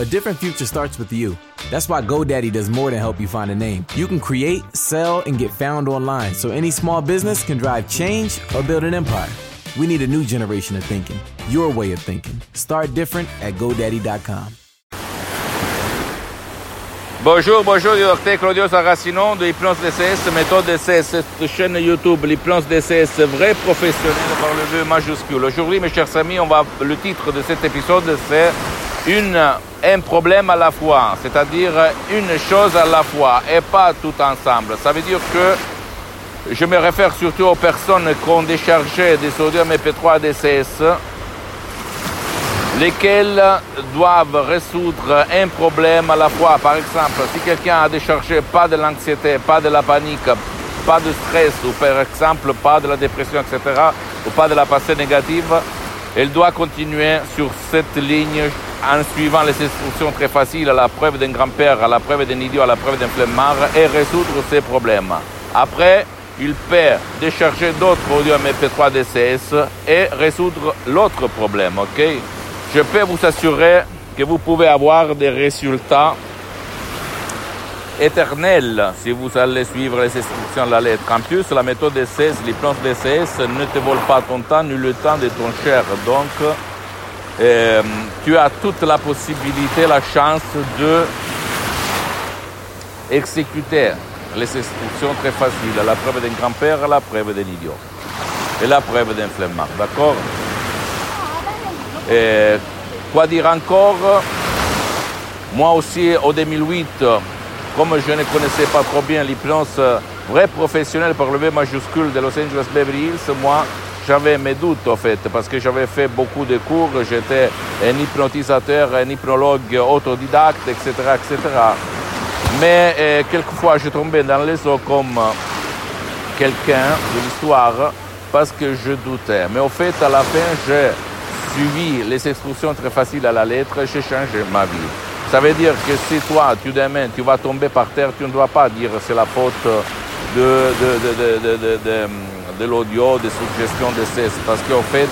A different future starts with you. That's why GoDaddy does more than help you find a name. You can create, sell, and get found online, so any small business can drive change or build an empire. We need a new generation of thinking. Your way of thinking. Start different at GoDaddy.com. Bonjour, du docteur Claudio Saracino de Hypnose DCS, méthode DCS, cette chaîne YouTube, l'hypnose DCS, vrai professionnel par le V majuscule. Aujourd'hui, mes chers amis, le titre de cet épisode, c'est un problème à la fois, c'est-à-dire une chose à la fois et pas tout ensemble. Ça veut dire que je me réfère surtout aux personnes qui ont déchargé des audios MP3 DCS, lesquels doivent résoudre un problème à la fois. Par exemple, si quelqu'un a déchargé pas de l'anxiété, pas de la panique, pas de stress, ou par exemple pas de la dépression, etc., ou pas de la pensée négative, elle doit continuer sur cette ligne en suivant les instructions très faciles à la preuve d'un grand-père, à la preuve d'un idiot, à la preuve d'un flemmard, et résoudre ces problèmes. Après, il peut décharger d'autres audios MP3 DCS et résoudre l'autre problème, ok? Je peux vous assurer que vous pouvez avoir des résultats éternels si vous allez suivre les instructions de la lettre. En plus, la méthode DCS, l'hypnose DCS, ne te vole pas ton temps ni le temps de ton cher. Donc, tu as toute la possibilité, la chance de exécuter les instructions très faciles. La preuve d'un grand-père, la preuve d'un idiot et la preuve d'un flemmard. D'accord? Et quoi dire encore? Moi aussi, en 2008, comme je ne connaissais pas trop bien l'hypnose vrai professionnel par le V majuscule de Los Angeles Beverly Hills, moi, j'avais mes doutes, en fait, parce que j'avais fait beaucoup de cours, j'étais un hypnotisateur, un hypnologue autodidacte, etc., etc. Mais quelquefois, je tombais dans les eaux comme quelqu'un de l'histoire parce que je doutais. Mais au fait, à la fin, j'ai suivi les instructions très faciles à la lettre, j'ai changé ma vie. Ça veut dire que si toi, demain, tu vas tomber par terre, tu ne dois pas dire c'est la faute de l'audio, des suggestions de cesse, parce qu'en fait,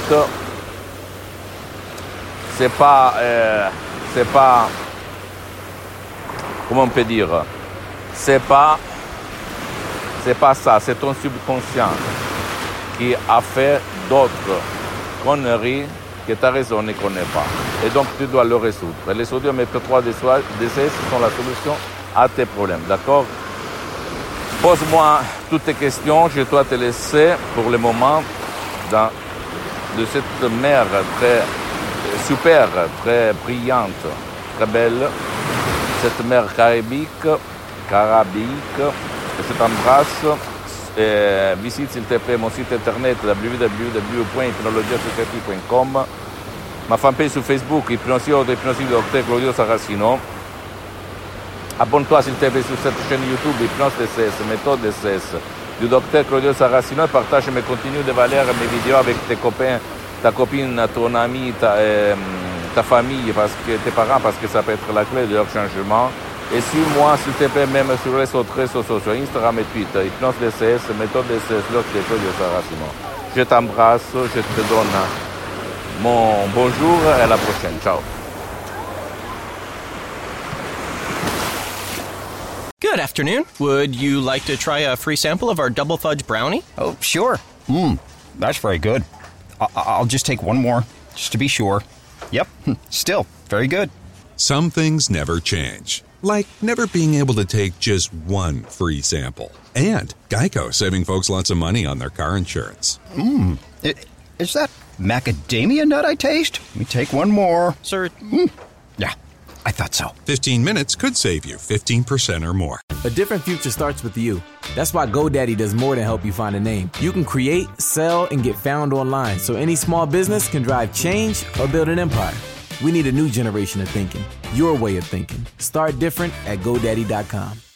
c'est pas, comment on peut dire, c'est pas ça, c'est ton subconscient qui a fait d'autres conneries que ta raison ne connaît pas. Et donc, tu dois le résoudre. Et les audios MP3 DCS sont la solution à tes problèmes, d'accord? Pose-moi toutes tes questions, je dois te laisser pour le moment de cette mer très super, très brillante, très belle, cette mer carabique, je t'embrasse. Visite s'il te plaît mon site internet www.hypnologiassociative.com, ma fanpage sur Facebook, Hypnosio du docteur Claudio Saracino. Abonne-toi s'il te plaît sur cette chaîne YouTube, Hypnose DCS, méthode DCS du docteur Claudio Saracino, et partage mes contenus de valeur, mes vidéos avec tes copains, ta copine, ton ami, ta famille, tes parents, parce que ça peut être la clé de leur changement. Et suis-moi, s'il te plaît, même sur les autres réseaux sociaux, Instagram et Twitter, Hypnose DCS, méthode DCS, docteur Claudio Saracino. Je t'embrasse, je te donne mon bonjour et à la prochaine. Ciao. Good afternoon. Would you like to try a free sample of our double fudge brownie? Oh, sure. That's very good. I'll just take one more, just to be sure. Yep, still very good. Some things never change, like never being able to take just one free sample. And Geico saving folks lots of money on their car insurance. Is that macadamia nut I taste? Let me take one more. Sir, Yeah, I thought so. 15 minutes could save you 15% or more. A different future starts with you. That's why GoDaddy does more than help you find a name. You can create, sell, and get found online, so any small business can drive change or build an empire. We need a new generation of thinking. Your way of thinking. Start different at GoDaddy.com.